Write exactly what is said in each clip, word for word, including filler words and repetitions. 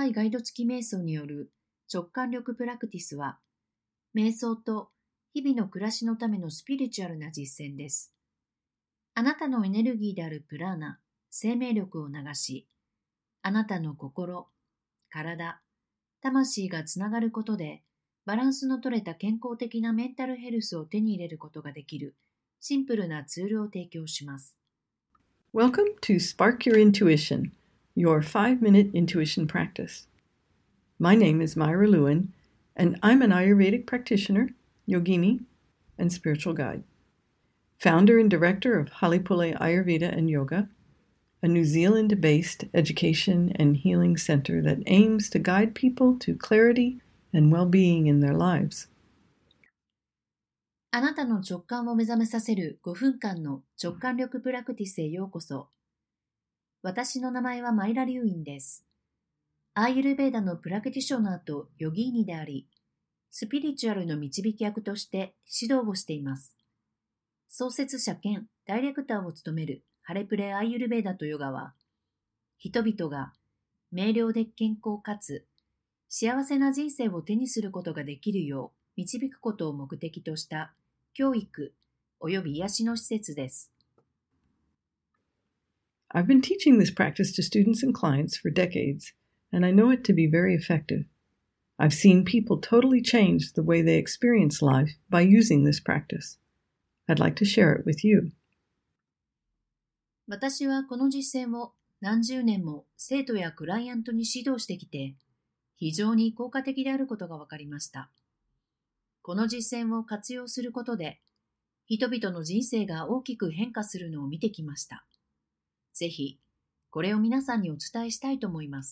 短いガイド付き瞑想による直感力プラクティスは、瞑想と日々の暮らしのためのスピリチュアルな実践です。あなたのエネルギーであるプラーナ、生命力を流し、あなたの心、体、魂がつながることで、バランスの取れた健康的なメンタルヘルスを手に入れることができるシンプルなツールを提供します。 Welcome to Spark Your Intuition, your five-minute intuition practice. My name is Myra Lewin, and I'm an Ayurvedic practitioner, yogini, and spiritual guide. Founder and director of Halipule Ayurveda and Yoga, a New Zealand-based education and healing center that aims to guide people to clarity and well-being in their lives. あなたの直感を目覚めさせるごふんかんの直感力プラクティスへようこそ。私の名前はマイラ・リュウインです。アーユルヴェーダのプラクティショナーとヨギーニであり、スピリチュアルの導き役として指導をしています。創設者兼ダイレクターを務めるハレプレアーユルヴェーダとヨガは、人々が明瞭で健康かつ幸せな人生を手にすることができるよう導くことを目的とした教育および癒しの施設です。 I've been teaching this practice to students and clients for decades, and I know it to be very effective. I've seen people totally change the way they experience life by using this practice. I'd like to share it with you. 私はこの実践を何十年も生徒やクライアントに指導してきて、非常に効果的であることが分かりました。この実践を活用することで、人々の人生が大きく変化するのを見てきました。ぜひ、これを皆さんにお伝えしたいと思います。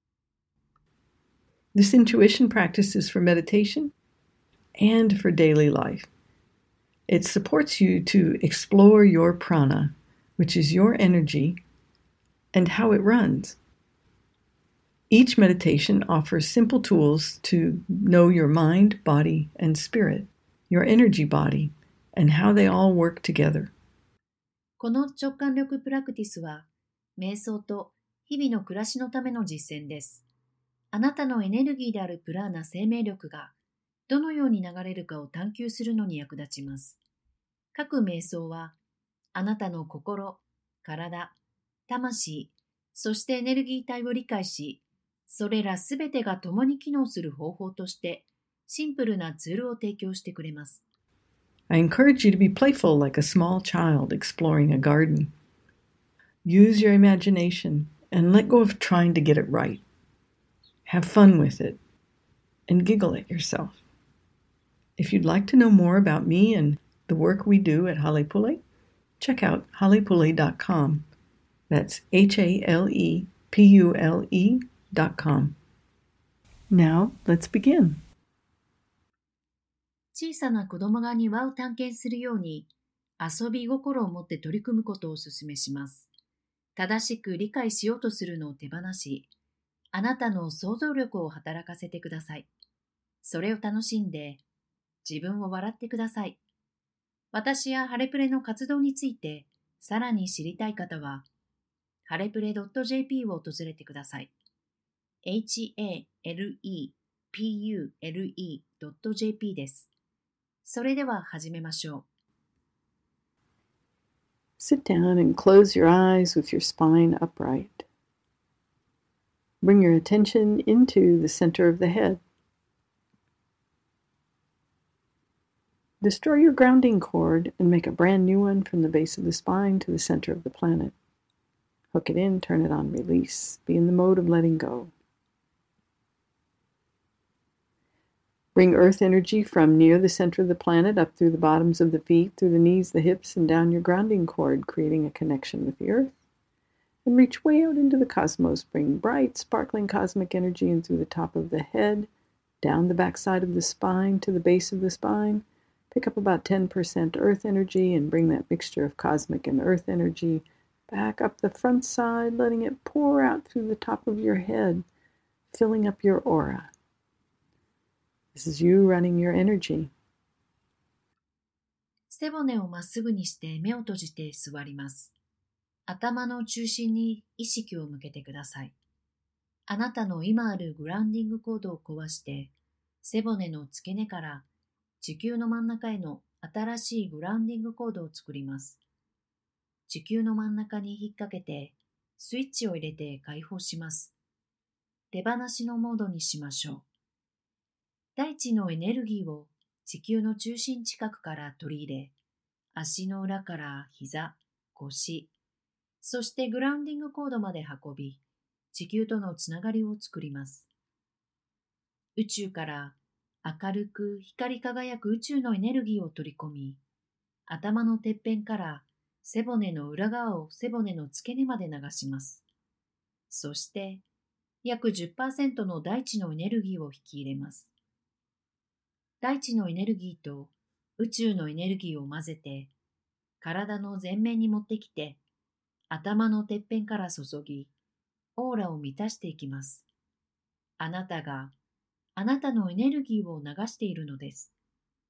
This intuition practice is for meditation and for daily life. It supports you to explore your prana, which is your energy, and how it runs. Each meditation offers simple tools to know your mind, body, and spirit, your energy body, and how they all work together. この直感力プラクティスは、瞑想と日々の暮らしのための実践です。あなたのエネルギーであるプラーナ生命力がどのように流れるかを探求するのに役立ちます。各瞑想は、あなたの心、体、魂、そしてエネルギー体を理解し、それらすべてが共に機能する方法として、シンプルなツールを提供してくれます。 I encourage you to be playful like a small child exploring a garden. Use your imagination and let go of trying to get it right. Have fun with it and giggle at yourself. If you'd like to know more about me and the work we do at Halepule, check out halepule dot com. That's H A L E P U L E dot com. Now, let's begin. 小さな子供が庭を探検するように、遊び心を持って取り組むことをお勧めします。正しく理解しようとするのを手放し、あなたの想像力を働かせてください。それを楽しんで、自分を笑ってください。私やハレプレの活動について、さらに知りたい方は、ハレプレ .jp を訪れてください。エイチエーエルイーピーユーエルイードットジェーピー です。それでは始めましょう。 Sit down and close your eyes with your spine upright. Bring your attention into the center of the head. Destroy your grounding cord and make a brand new one from the base of the spine to the center of the planet. Hook it in, turn it on, release. Be in the mode of letting go. Bring earth energy from near the center of the planet up through the bottoms of the feet, through the knees, the hips, and down your grounding cord, creating a connection with the earth. And reach way out into the cosmos. Bring bright, sparkling cosmic energy in through the top of the head, down the backside of the spine to the base of the spine. Pick up about ten percent earth energy and bring that mixture of cosmic and earth energy back up the front side, letting it pour out through the top of your head, filling up your aura. This is you running your energy. 背骨をまっすぐにして目を閉じて座ります。頭の中心に意識を向けてください。 あなたの今あるグラウンディングコードを壊して、背骨の付け根から地球の真ん中への新しいグラウンディングコードを作ります。地球の真ん中に引っ掛けて、スイッチを入れて解放します。手放しのモードにしましょう。大地のエネルギーを地球の中心近くから取り入れ、足の裏から膝、腰、そしてグラウンディングコードまで運び、地球とのつながりを作ります。宇宙から明るく光り輝く宇宙のエネルギーを取り込み、頭のてっぺんから背骨の裏側を背骨の付け根まで流します。そして、約 じゅっパーセント の大地のエネルギーを引き入れます。大地のエネルギーと宇宙のエネルギーを混ぜて、体の前面に持ってきて、頭のてっぺんから注ぎ、オーラを満たしていきます。あなたがあなたのエネルギーを流しているのです。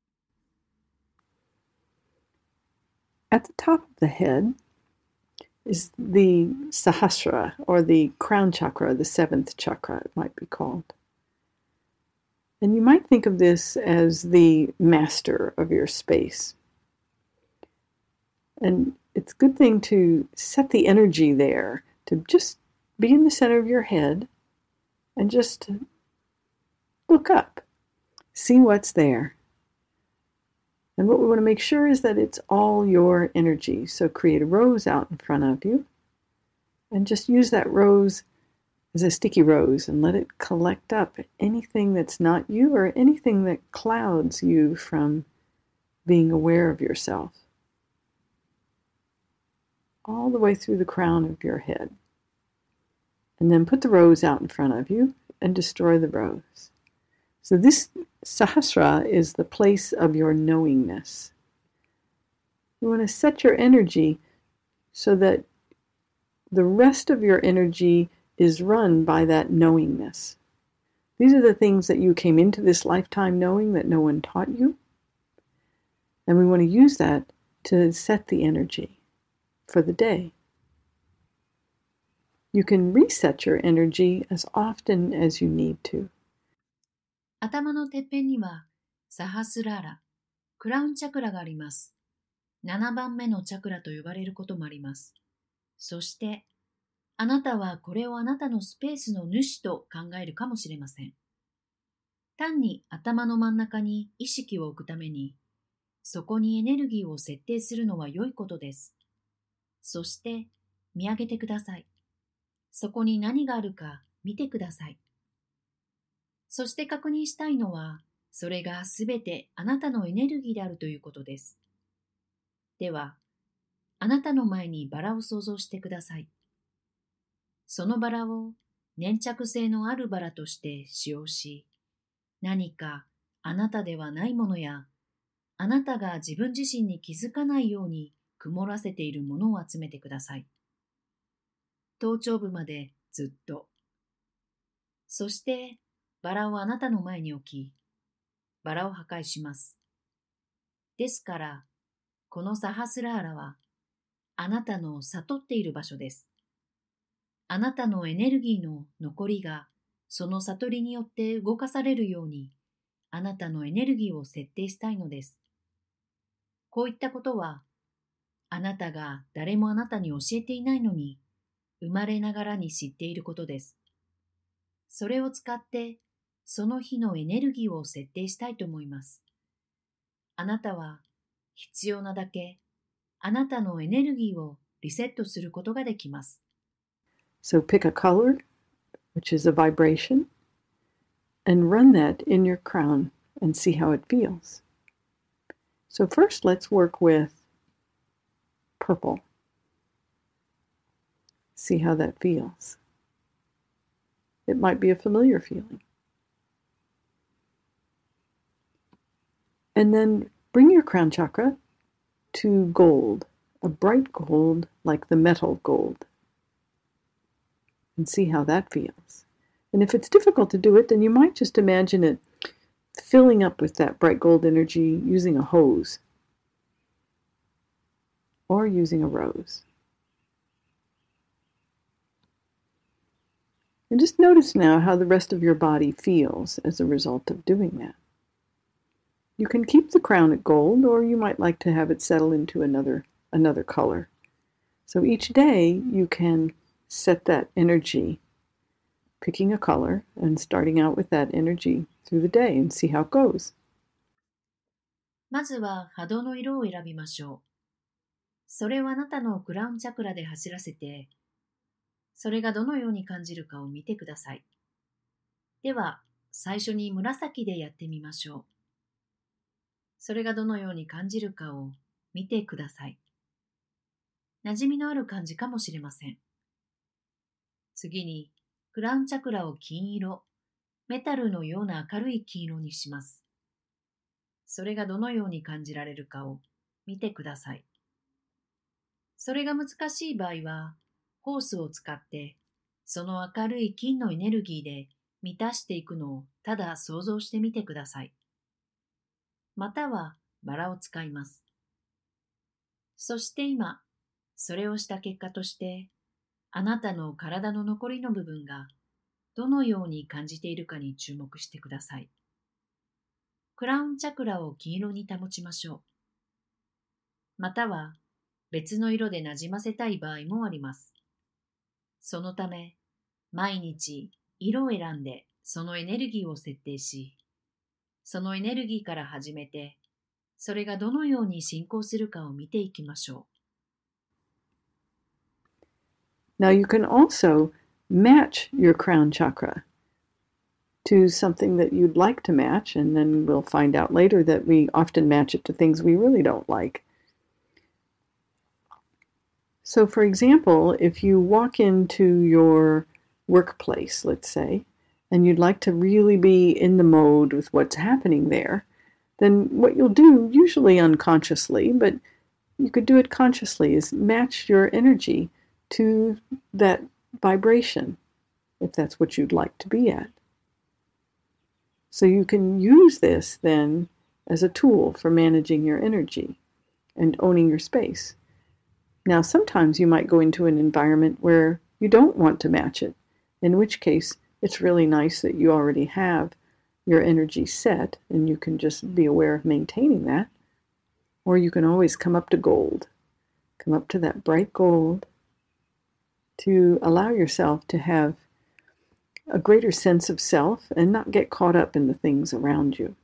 At the top of the head is the Sahasrara, or the crown chakra, the seventh chakra, it might be called. And you might think of this as the master of your space. And it's a good thing to set the energy there, to just be in the center of your head and just look up, see what's there. And what we want to make sure is that it's all your energy. So create a rose out in front of you and just use that rose as a sticky rose and let it collect up anything that's not you or anything that clouds you from being aware of yourself. All the way through the crown of your head. And then put the rose out in front of you and destroy the rose. So this Sahasrara is the place of your knowingness. You want to set your energy so that the rest of your energy is run by that knowingness. These are the things that you came into this lifetime knowing that no one taught you. And we want to use that to set the energy for the day. You can reset your energy as often as you need to. 頭のてっぺんにはサハスラーラ、クラウンチャクラがあります。ななばんめのチャクラと呼ばれることもあります。そして、あなたはこれをあなたのスペースの主と考えるかもしれません。単に頭の真ん中に意識を置くために、そこにエネルギーを設定するのは良いことです。そして、見上げてください。そこに何があるか見てください。そして確認したいのは、それがすべてあなたのエネルギーであるということです。では、あなたの前にバラを想像してください。そのバラを粘着性のあるバラとして使用し、何かあなたではないものや、あなたが自分自身に気づかないように曇らせているものを集めてください。頭頂部までずっと。そして、バラをあなたの前に置き、バラを破壊します。ですから、このサハスラーラは、あなたの悟っている場所です。あなたのエネルギーの残りが、その悟りによって動かされるように、あなたのエネルギーを設定したいのです。こういったことは、あなたが誰もあなたに教えていないのに、生まれながらに知っていることです。それを使って、その日のエネルギーを設定したいと思います。あなたは必要なだけ、あなたのエネルギーをリセットすることができます。 So pick a color, which is a vibration, and run that in your crown and see how it feels. So first let's work with purple. See how that feels. It might be a familiar feeling. And then bring your crown chakra to gold, a bright gold like the metal gold. And see how that feels. And if it's difficult to do it, then you might just imagine it filling up with that bright gold energy using a hose or using a rose. And just notice now how the rest of your body feels as a result of doing that. You can keep the crown at gold, or you might like to have it settle into another, another color. So each day you can set that energy, picking a color and starting out with that energy through the day and see how it goes. まずは波動の色を選びましょう。それをあなたのクラウンチャクラで走らせて、それがどのように感じるかを見てください。では、最初に紫でやってみましょう。それがどのように感じるかを見てください。馴染みのある感じかもしれません。次に、クラウンチャクラを金色、メタルのような明るい金色にします。それがどのように感じられるかを見てください。それが難しい場合は、ホースを使って、その明るい金のエネルギーで満たしていくのをただ想像してみてください。またはバラを使います。そして今、それをした結果として、あなたの体の残りの部分がどのように感じているかに注目してください。クラウンチャクラを金色に保ちましょう。または別の色でなじませたい場合もあります。そのため、毎日色を選んでそのエネルギーを設定し、そのエネルギーから始めて、それがどのように進行するかを見ていきましょう。Now you can also match your crown chakra to something that you'd like to match, and then we'll find out later that we often match it to things we really don't like. So for example, if you walk into your workplace, let's say, and you'd like to really be in the mode with what's happening there, then what you'll do, usually unconsciously, but you could do it consciously, is match your energy to that vibration, if that's what you'd like to be at. So you can use this then as a tool for managing your energy and owning your space. Now, sometimes you might go into an environment where you don't want to match it, in which case it's really nice that you already have your energy set and you can just be aware of maintaining that. Or you can always come up to gold, come up to that bright gold to allow yourself to have a greater sense of self and not get caught up in the things around you.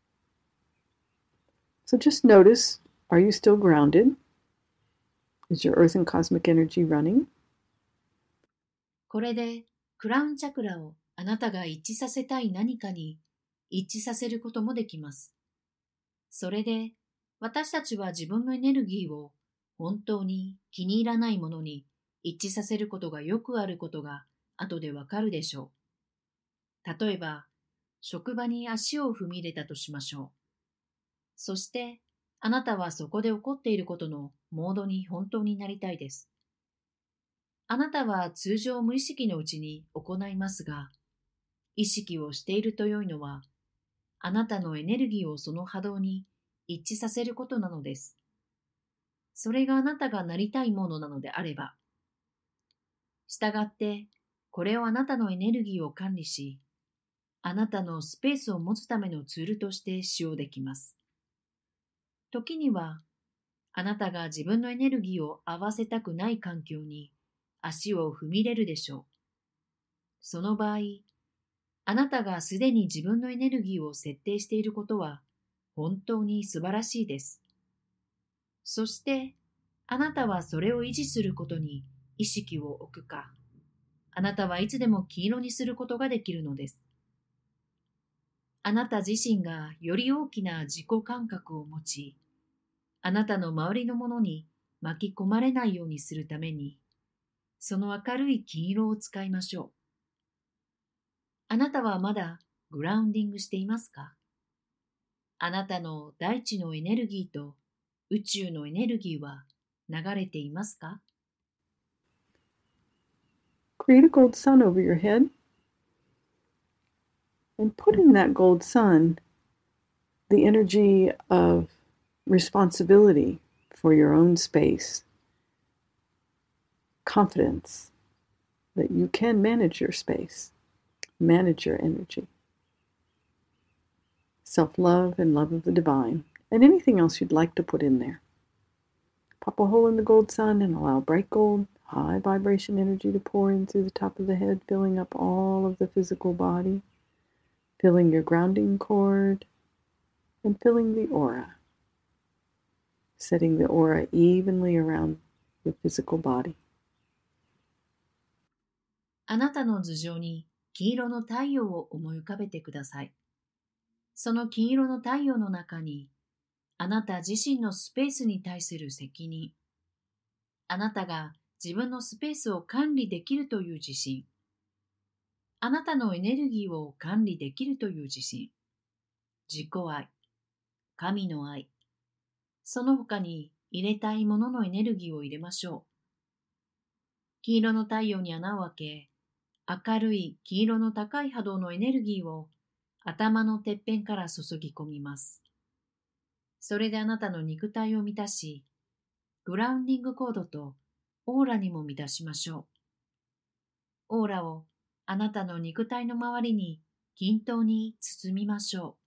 So just notice, are you still grounded? Is your earth and cosmic energy running? これでクラウンチャクラをあなたが一致させたい何かに一致させることもできます。それで私たちは自分のエネルギーを本当に気に入らないものに一致させることがよくあることが後でわかるでしょう。例えば、職場に足を踏み入れたとしましょう。そして、あなたはそこで起こっていることのモードに本当になりたいです。あなたは通常無意識のうちに行いますが、意識をしていると良いのは、あなたのエネルギーをその波動に一致させることなのです。それがあなたがなりたいものなのであれば、したがって、これをあなたのエネルギーを管理し、あなたのスペースを持つためのツールとして使用できます。時には、あなたが自分のエネルギーを合わせたくない環境に足を踏み入れるでしょう。その場合、あなたがすでに自分のエネルギーを設定していることは本当に素晴らしいです。そして、あなたはそれを維持することに意識を置くか、あなたはいつでも黄色にすることができるのです。あなた自身がより大きな自己感覚を持ち、あなたの周りのものに巻き込まれないようにするために、その明るい金色を使いましょう。あなたはまだグラウンディングしていますか？あなたの大地のエネルギーと宇宙のエネルギーは流れていますか？ Create a gold sun over your head and put in that gold sun the energy of responsibility for your own space, confidence, that you can manage your space, manage your energy. Self-love and love of the divine, and anything else you'd like to put in there. Pop a hole in the gold sun and allow bright gold, high vibration energy to pour in through the top of the head, filling up all of the physical body, filling your grounding cord, and filling the aura, setting the aura evenly around the physical body. あなたの頭上に金色の太陽を思い浮かべてください。その金色の太陽の中に、あなた自身のスペースに対する責任、あなたが自分のスペースを管理できるという自信、あなたのエネルギーを管理できるという自信、自己愛、神の愛、その他に入れたいもののエネルギーを入れましょう。金色の太陽に穴を開け、明るい黄色の高い波動のエネルギーを頭のてっぺんから注ぎ込みます。それであなたの肉体を満たし、グラウンディングコードとオーラにも満たしましょう。オーラをあなたの肉体の周りに均等に包みましょう。